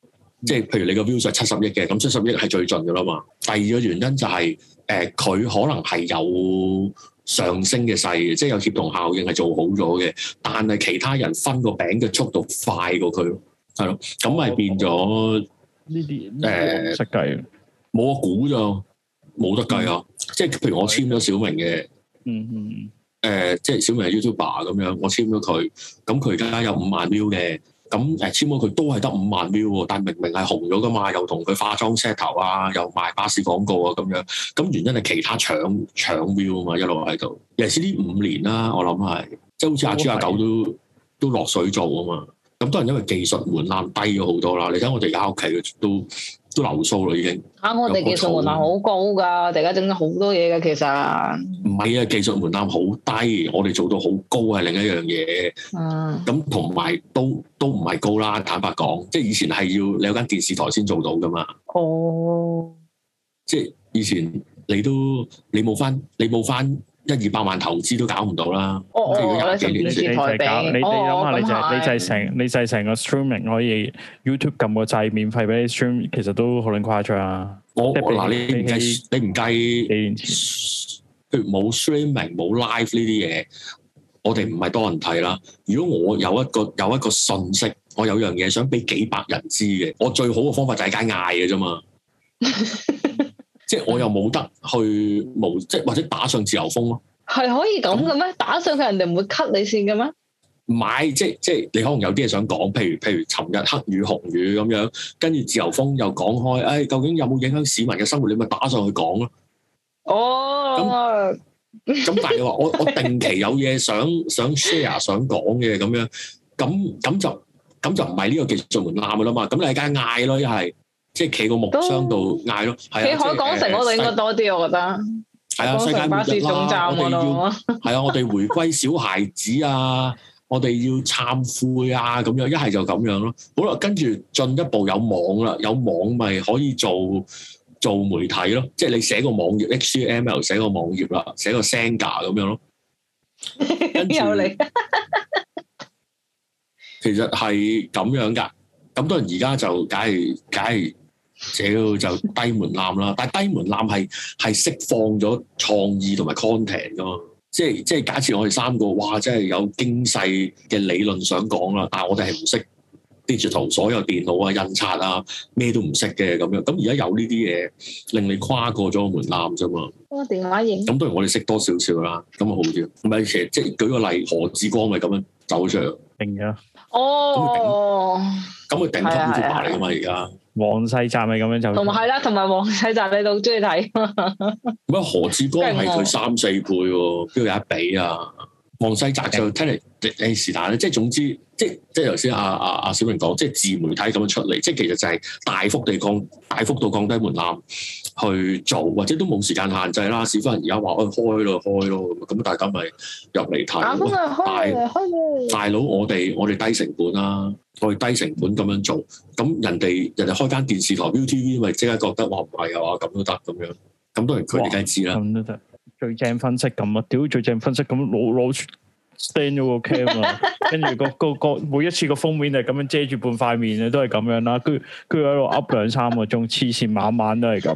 Speaker 3: 即係譬如你個 view 係七十億嘅，咁七十億係最盡噶啦嘛。第二個原因就係、是、誒，佢、呃、可能係有上升嘅勢嘅，即係有協同效應係做好咗嘅，但係其他人分個餅嘅速度快過佢咯，係咯，咁咪變咗
Speaker 1: 呢啲誒識計，
Speaker 3: 冇個估咋，冇得計啊！即係譬如我簽咗小明嘅，
Speaker 1: 嗯嗯，誒、
Speaker 3: 呃，即係小明係 YouTuber 咁樣，我簽咗佢，咁佢而家有五萬 view 嘅。咁誒簽咗佢都係得五萬 view 喎，但明明係紅咗噶嘛，又同佢化妝 set 頭啊，又賣巴士廣告啊咁樣，咁原因係其他搶搶 view 啊嘛，一路喺度。尤其是呢五年啦，我諗係即係好似阿豬阿狗都都落水做啊嘛，咁當然因為技術門檻低咗好多啦。你睇我哋而家屋企都都流蘇啦已經。啊！
Speaker 2: 我哋技術門檻好高㗎，我哋而家整咗好多嘢㗎，其實。唔係啊，技術門檻好低，我哋做到好高係另一樣嘢。嗯。咁同埋都都唔係高啦，坦白講，即係以前係要你有間電視台先做到㗎嘛。哦。即係以前你都你冇翻你冇翻一二百萬投資都搞唔到啦。哦哦。即係如果廿幾年前，
Speaker 1: 你就係搞你你諗下，你就係你就係成你就係成個 streaming 可以 YouTube 撳個掣免費俾你 stream， 其實都好撚誇張啊！我
Speaker 3: 嗱，你唔計你唔計，譬如冇 streaming 冇 live 呢啲嘢，我哋唔係多人睇啦。如果我有一個有一個信息，我有樣嘢想俾幾百人知嘅，我最好嘅方法就係街嗌嘅啫嘛。即係我又冇得去無，即係或者打上自由風咯。係可以咁嘅咩？打上去人哋唔會 cut 你線嘅咩？唔係，即係即係你可能有啲嘢想講，譬如譬如尋日黑雨紅雨咁樣，跟住自由風又講開，誒、哎、究竟有冇影響市民嘅生活？你咪打上去講咯。哦，咁咁但係你話我我定期有嘢想想 share 想講嘅咁樣，咁咁就咁就唔係呢個技術門檻噶啦嘛。咁你喺街嗌咯，一係即係企個木箱度嗌咯。企海港城嗰度應該多啲，我覺得。係啊，世界巴士總站我哋要係啊，我哋回歸小孩子啊。我哋要懺悔啊，咁樣一係就咁樣咯。好啦，跟住進一步有網啦，有網咪可以做做媒體咯。即係你寫個網頁 H T M L 寫個網頁啦，寫個 Senga 咁樣咯。跟住有你，其實係咁樣噶。咁當然而家就梗係梗係，屌就低門檻啦。但係低門檻係係釋放咗創意同埋 content 噶嘛。即係即係假設我哋三個，哇！真係有精細嘅理論想講啦，但係我哋係唔識 digital，所有電腦啊、印刷啊，咩都唔識嘅咁樣。咁而家有呢啲嘢，令你跨過咗個門檻啫嘛。個電話影。咁當然我哋識多少少啦，咁啊好啲。唔係其實即係舉個例，何志光咪咁樣走出嚟。定咗。哦。咁佢頂級 YouTuber 嚟噶嘛？而家。黃世澤咪咁樣就，同埋係啦，同埋黃世澤你都好中意睇。乜何志光係佢三四倍喎，邊度有得比啊？黃世澤就聽嚟誒是但咧，即係總之，即係即係頭先阿阿阿小明講，即係自媒體咁樣出嚟，即係其實就係大幅地降大幅度降低門檻去做，或者都冇時間限制啦。市府人而家話誒開咯開咯咁，咁大家咪入嚟睇。大大佬，我哋我哋低成本啦，我哋低成本咁樣做，咁人哋人哋開間電視台 V T V 咪即刻覺得話唔係啊，咁都得咁樣，咁當然佢哋梗係知啦。咁都得。最正分析咁啊！屌最正分析咁攞攞 stand 咗個 cam 啊，跟住個個個每一次個封面係咁樣遮住半塊面啊，都係咁樣啦。跟住跟住喺度噏兩三個鐘，黐線晚晚都係咁。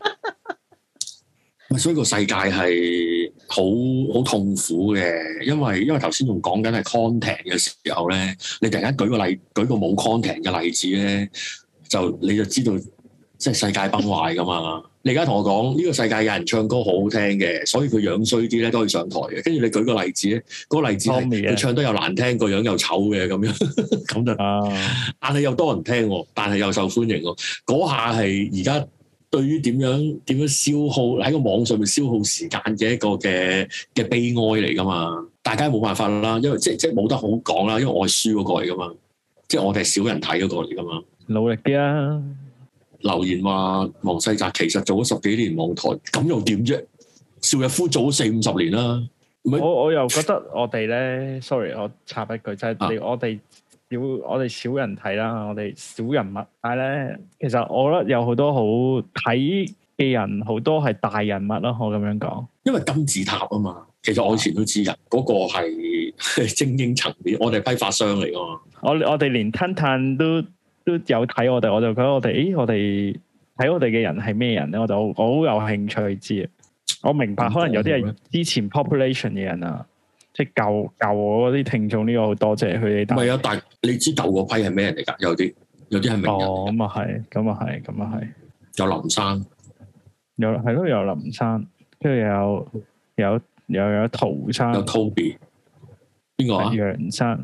Speaker 3: 所以個世界係好好痛苦嘅，因為因為頭先仲講緊係 content 嘅時候咧，你突然間舉個例，舉個冇 content 嘅例子咧，就你就知道即係世界崩壞噶嘛。你而家同我講呢個世界有人唱歌好好聽嘅，所以佢樣衰啲咧都可以上台嘅。跟住你舉個例子咧，嗰個例子係佢唱得又難聽，個樣又醜嘅咁樣，咁就啊，但係又多人聽，但係又受歡迎。嗰下係而家對於點樣點樣消耗喺個網上面消耗時間嘅一個嘅嘅悲哀嚟噶嘛？大家冇辦法啦，因為即即冇得好講啦，因為我係輸嗰個嚟噶嘛，即係我哋係少人睇嗰個嚟噶嘛。努力啲啊！留言話黃世澤其實做咗十幾年網台，咁又點啫？邵逸夫做咗四五十年啦。我我又覺得我哋咧，sorry，我插一句，就係、是、你、啊、我哋少我哋少人睇啦，我哋少人物。但係咧，其實我覺得有好多好睇嘅人，好多係大人物咯。我咁樣講，因為金字塔啊嘛。其實我以前都知㗎，嗰、那個係精英層面，我哋批發商嚟㗎嘛。我我哋連吞炭都。
Speaker 1: 都有睇我哋，我就覺得我哋，咦，我哋睇我哋嘅人係咩人咧？我就我好有興趣知。我明白可能有啲係之前 population 嘅人啊，即係舊舊我嗰啲聽眾呢個好多謝佢哋。唔係啊，但係你知舊嗰批係咩人嚟㗎？有啲有啲係名人。哦，咁啊係，咁啊係，咁啊係。有林生，有係咯，有林生，跟住有有又有陶生，有 Toby， 邊個啊？楊生，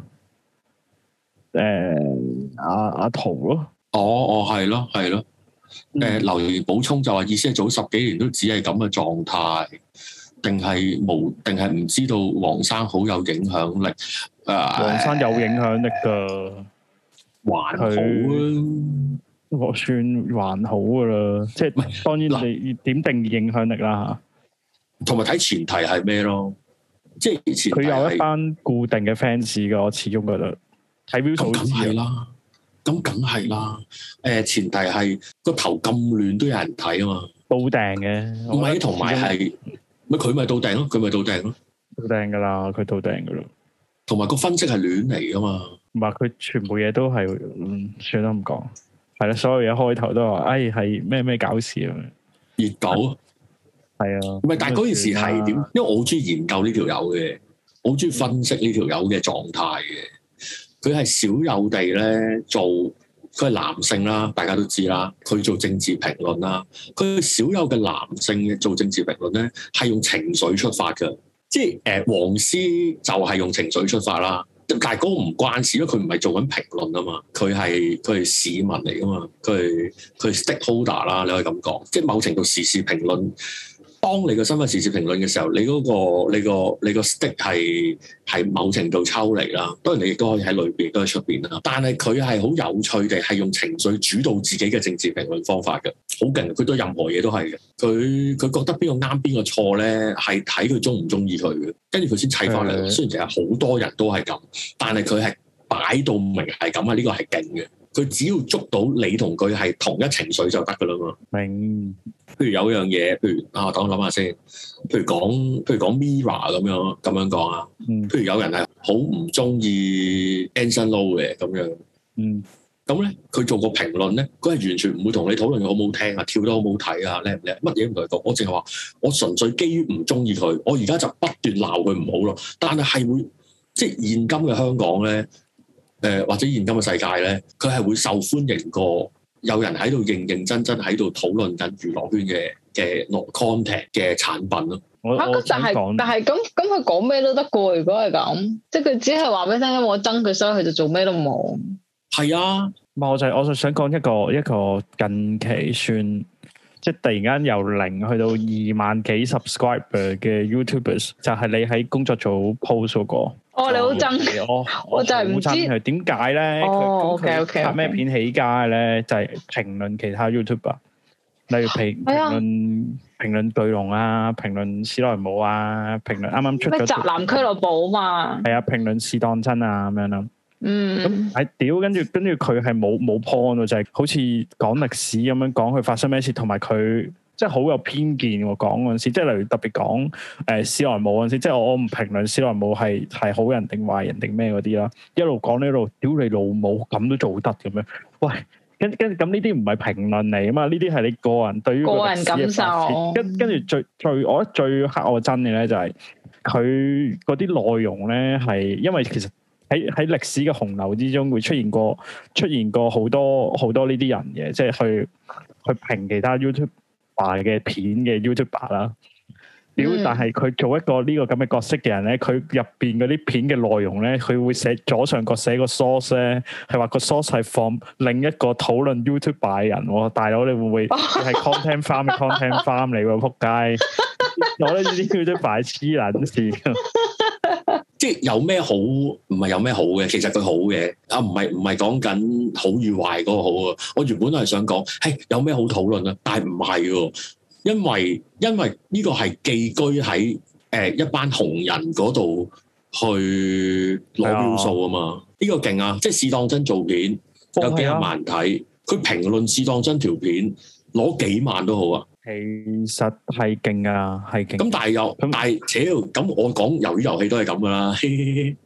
Speaker 1: 誒阿阿陶咯。哦哦，係咯係咯。誒、呃、留言補充就話意思係早十幾年都只係咁嘅狀態，定係無定係唔知道黃生好有影響力？誒、呃，黃生有影響力㗎，還好啊，我算還好㗎啦。即係當然你點定義影響力啦嚇，同埋睇前提係咩咯？即係佢有一班固定嘅 fans 㗎，我始終覺得睇標數知啦。咁梗係啦，誒前提係個頭咁亂都有人睇啊嘛，到訂嘅，唔係同埋係，咪佢咪到訂咯，佢咪到訂咯，到訂噶啦，佢到訂噶啦，同埋個分析係亂嚟噶嘛，唔係佢全部嘢都係，嗯，算啦唔講，係啦，所有嘢開頭都話，哎係咩咩搞事啊，熱狗，係啊，唔係，但係嗰件事係點？因為我好中意研究呢條友嘅，我好中意分析呢條友嘅狀態嘅。佢係少有地咧做，佢係男性啦，大家都知啦。佢做政治評論啦，佢少有嘅男性嘅做政治評論咧，係用情緒出發嘅。即係誒、呃，黃絲就係用情緒出發啦。但係嗰個唔關事，因為佢唔係做緊評論啊嘛，佢係佢係市民嚟噶嘛，佢係佢係 stakeholder 啦，你可以咁講。即係某程度時事評論。當你個身份時事評論嘅時候，你嗰、嗰個你個你個 stick 係係某程度抽離啦。當然你亦都可以喺裏邊，都喺出邊啦。但係佢係好有趣地係用情緒主導自己嘅政治評論方法嘅，好勁。佢對任何嘢都係嘅。佢佢覺得邊個啱邊個錯咧，係睇佢中唔中意佢嘅，跟住佢先砌翻嚟。的雖然其實好多人都係咁，但係佢係擺到明係咁啊！呢、呢個係勁嘅。佢只要捉到你同佢係同一情緒就得噶啦嘛。明。譬如有樣嘢，譬如啊，等我諗下先。譬如講，譬如講 Mirror 咁樣咁樣講啊。嗯。譬如有人係好唔中意 Anson Lo 嘅咁樣。嗯。咁咧，佢做個評論咧，佢係完全唔會同你討論好唔好聽啊，跳得好唔好睇啊，叻唔叻，乜嘢唔同佢講。我淨係話，我純粹基於唔中意佢，我而家就不斷鬧佢唔好咯。但係係會，即係現今嘅香港咧，誒、呃、或者現今嘅世界咧，佢係會受歡迎過。有人喺度認認真真喺度討論緊娛樂圈嘅嘅內 content 嘅產品咯。嚇！咁但係但係咁咁佢講咩都得過，如果係咁，即係佢只係話俾你聽，我憎佢，所以佢就做咩都冇。係啊，我就我就想講一個一個近期算即係突然間由零去到二萬幾 subscriber 嘅 YouTubers，就係你喺工作組 post 嗰個。哦，你好憎我，我就係唔知佢點解咧。哦，OK OK。拍咩片起家咧？就係評論其他 YouTuber，例如評評論評論巨龍啊，評論史萊姆啊，評論啱啱出咗咩宅男俱樂部啊嘛。係啊，評論試當真啊咁樣咯。嗯。咁係屌，跟住跟住佢係冇冇 point 喎，就係好似講歷史咁樣講佢發生咩事，同埋佢。即係好有偏見喎，講嗰陣時，即係例如特別講誒史萊姆嗰陣時，即係我我唔評論史萊姆係係好人定壞人定咩嗰啲啦，一路講呢一路屌你老母咁都做得咁樣，喂，跟跟咁呢啲唔係評論嚟啊嘛，呢啲係你個人對於個人感受，跟跟住最最我覺得最黑我憎嘅咧就係佢嗰啲內容咧係因為其實喺喺歷史嘅洪流之中會出現過出現過好多好多呢啲人嘅，即係去去評其他 YouTube。嘅片嘅 YouTuber 啦，屌！但係佢做一個呢個咁嘅角色嘅人咧，佢入邊嗰啲片嘅內容咧，佢會寫左上角寫個 source 咧，係話個 source 係放另一個討論 YouTuber 嘅人喎，大佬你會唔會係 content farm 嘅 content farm 嚟喎？仆街！我覺得呢啲 YouTuber 係黐撚線。即係有咩好？唔係有咩好嘅，其實佢好嘅啊，唔係唔係講緊好與壞嗰個好啊。我原本都係想講，係有咩好討論啊？但係唔係喎，因為因為呢個係寄居喺誒、呃、一班紅人嗰度去攞標數啊嘛。呢、這個勁啊！即係試當真做片有幾百萬睇，佢評論試當真條片攞幾萬都好啊。其實係勁啊，係勁。咁但係又，但係，屌，咁我講魷魚遊戲都係咁噶啦。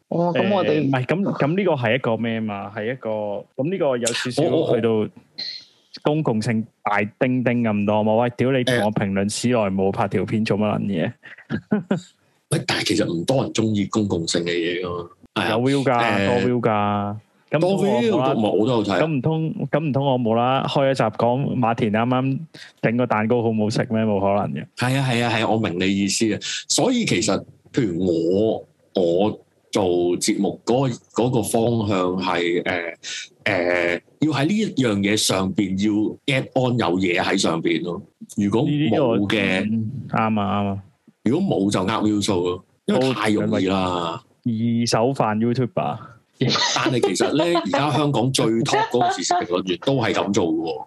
Speaker 2: 哦，咁我哋
Speaker 1: 唔係咁咁呢個係一個咩嘛？係一個咁呢個有少少去到公共性大叮叮咁多嘛？喂，屌你同我評論史萊姆拍條片做乜撚嘢？
Speaker 3: 喂，但係其實唔多人中意公共性嘅嘢噶嘛。
Speaker 1: 有 view 㗎，
Speaker 3: 呃、
Speaker 1: 多 view 㗎。咁
Speaker 3: 多 view 都冇，我都有睇。
Speaker 1: 咁唔通咁唔通我冇啦？開一集講馬田啱啱整個蛋糕好唔好食咩？冇可能嘅。係
Speaker 3: 啊係啊係啊，我明你意思啊。所以其實譬如我我做節目嗰、嗰個嗰個方向係誒誒，要喺呢一樣嘢上邊要 get on 有嘢喺上邊咯。如果冇嘅，
Speaker 1: 啱啊啱啊。
Speaker 3: 如果冇就呃 view 數咯，因為太容易啦。
Speaker 1: 二手飯 YouTuber。
Speaker 3: 但係其實咧，而家香港最 top 嗰個時事評論員都係咁做嘅喎。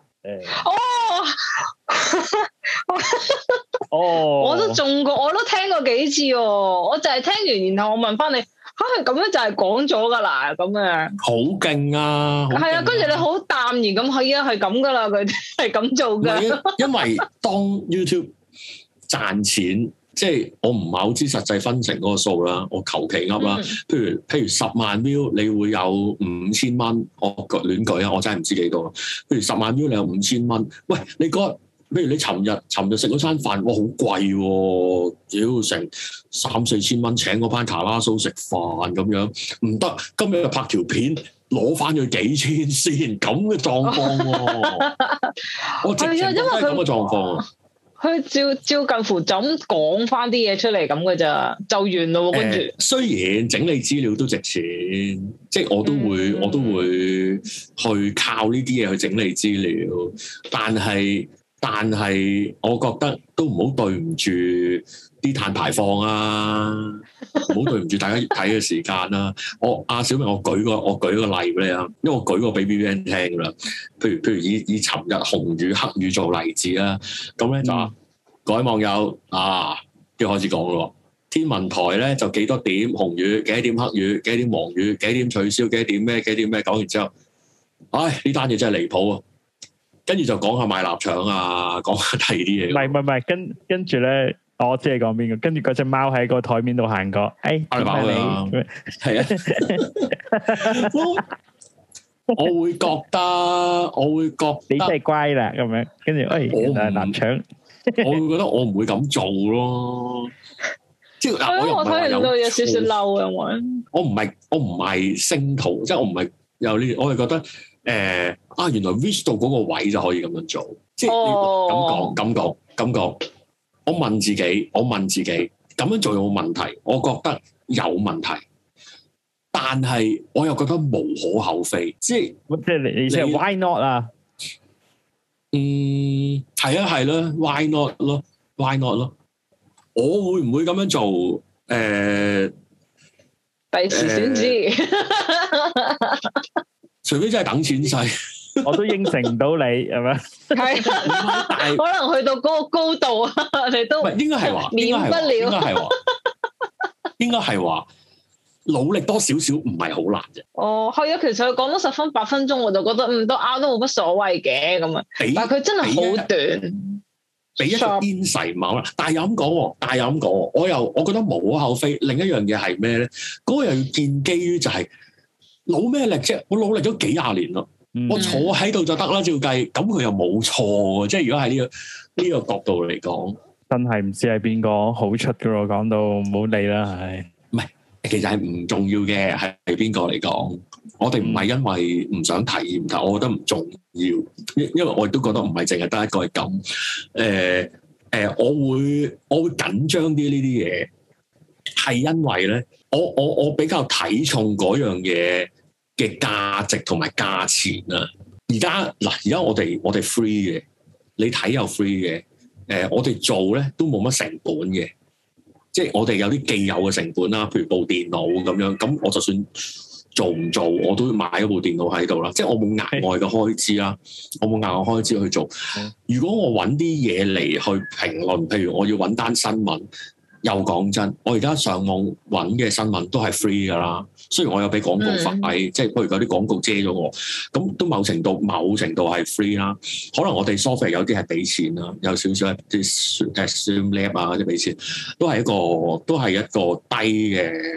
Speaker 2: 哦，哦，我都中過，我都聽過幾次喎。我就係聽完，然後我問翻你，嚇係咁樣就係講咗㗎啦，咁樣。好
Speaker 3: 勁啊！
Speaker 2: 係啊，跟住你好淡然咁，係啊，係咁㗎啦，佢係咁做㗎。
Speaker 3: 因為當 YouTube 賺錢。即係我唔係好知實際分成嗰個數啦，我求其噏啦。譬如譬如十萬 view，你會有五千蚊，我亂舉啊，我真係唔知幾多。譬如十萬 view，你有五千蚊。喂，你嗰日，譬如你尋日尋日食嗰餐飯，哇，好貴喎，屌成三四千蚊請嗰班卡拉蘇食飯咁樣，唔得。今日拍條片攞翻咗幾千先，咁嘅狀況喎。我直情都係咁嘅狀況。
Speaker 2: 佢照照近乎就咁講翻啲嘢出嚟咁嘅咋，就完咯。跟住、呃，
Speaker 3: 雖然整理資料都值錢，即係我都會、嗯、我都會去靠呢啲嘢去整理資料，但係但係我覺得都唔好對唔住啲碳排放啊，唔好對唔住大家睇嘅時間啦。我阿小明，我舉個我舉個例俾你啊，因為我舉個俾 B B N 聽㗎啦。譬如譬如以以尋日紅雨黑雨做例子啦，咁咧就、嗯、各位網友啊，要開始講咯。天文台咧就幾多點紅雨，幾多點黑雨，幾多點黃雨，幾多點取消，幾多點咩，幾多點咩，講完之後，唉，呢單嘢真係離譜啊！跟住就講下賣臘腸啊，講下第二啲嘢。唔係唔係唔係，跟跟住咧。我知你講邊個，跟住嗰隻貓喺個台面度行過，誒、哎，阿貓啊，係啊，我我會覺得，我會覺得你真係乖啦，咁樣，跟住誒，原來係臘腸，我會覺得我唔會咁做咯，即係嗱，我又唔係話有，有少少嬲啊，我我唔係我唔係星途，即係我唔係有呢，我係覺得誒、呃、啊，原來 reach 到嗰個位就可以咁樣做，即係咁講咁講咁講。我問自己，我問自己咁樣做有冇問題？我覺得有問題，但係我又覺得無可厚非，即係即係你你即係 why not 啊？嗯，係啊，係啦 ，why not 咯 ，why not 咯？我會唔會咁樣做？誒、呃，
Speaker 2: 第時先知，
Speaker 3: 呃、除非真係等錢使。
Speaker 1: 我都應承唔到你，係咪？係，
Speaker 2: 可能去到嗰個高度啊，你都唔係應該係話，免不了，應該係話，
Speaker 3: 應該係話，努力多少少唔係好難啫。
Speaker 2: 哦，係啊，其實佢講咗十分八分鐘，我就覺得嗯都啱，都冇乜所謂嘅咁啊。但係佢真係好短，
Speaker 3: 俾一個 insight 冇啦。但係又咁講，但係又咁講，我又我覺得無可厚非。另一樣嘢係咩咧？嗰、那個又要建基於就係、是、努咩力啫？我努力咗幾廿年咯。嗯、我坐喺度就得啦，照計咁佢又冇錯，即係如果喺呢、這個呢、這個角度嚟講，真係唔知係邊個好出噶咯。講到唔好理啦，係唔係？其實係唔重要嘅，係係邊個嚟講？我哋唔係因為唔想體驗，但我覺得唔重要，因因為我亦都覺得唔係淨係得一個係咁。誒、呃、誒、呃，我會我會緊張啲呢啲嘢，係因為咧，我我我比較睇重嗰樣嘢嘅價值同埋價錢啊！而家嗱，而家我哋我哋 free 嘅，你睇又 free 嘅，誒、呃，我哋做咧都冇乜成本嘅，即係我哋有啲既有嘅成本啦，譬如部電腦咁樣，咁我就算做唔做，我都要買一部電腦喺度啦，即係我冇額外嘅開支啦，我冇額外開支去做。如果我揾啲嘢嚟去評論，譬如我要揾單新聞。又講真，我而家上網揾嘅新聞都係 free 噶啦。雖然我有俾廣告費，即係譬如有啲廣告遮咗我，咁都某程度某程度係 free 啦。可能我哋 software 有啲係俾錢啦，有少少啲誒 Streamlab 啊嗰啲俾錢，都係一個都係一個低嘅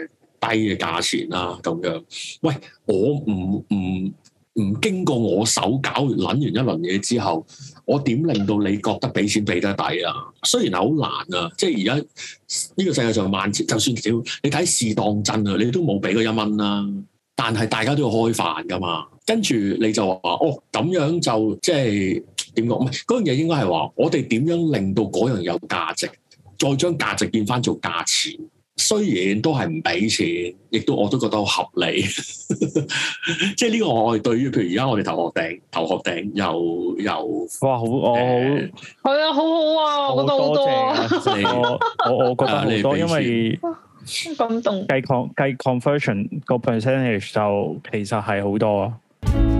Speaker 3: 嘅價錢啦咁樣。喂，我唔唔唔經過我手搞撚完一輪嘢之後，我點令到你覺得俾錢俾得抵啊？雖然係好難啊，即係而家呢個世界上萬千，就算少你睇試當真啊，你都冇俾過一蚊啦。但係大家都要開飯噶嘛，跟住你就話哦咁樣就即係點講？唔係嗰樣嘢應該係話我哋點樣令到嗰樣有價值，再將價值變翻做價錢。雖然都係唔俾錢，亦都我都覺得好合理。即係呢個我係對於譬如而家我哋頭殼頂頭殼頂又又
Speaker 1: 哇好我
Speaker 2: 係啊好好啊，我覺得好多啊。
Speaker 1: 我我我覺得好多，因為
Speaker 2: 感動
Speaker 1: 計 con 計 conversion 個 percentage 就其實係好多啊。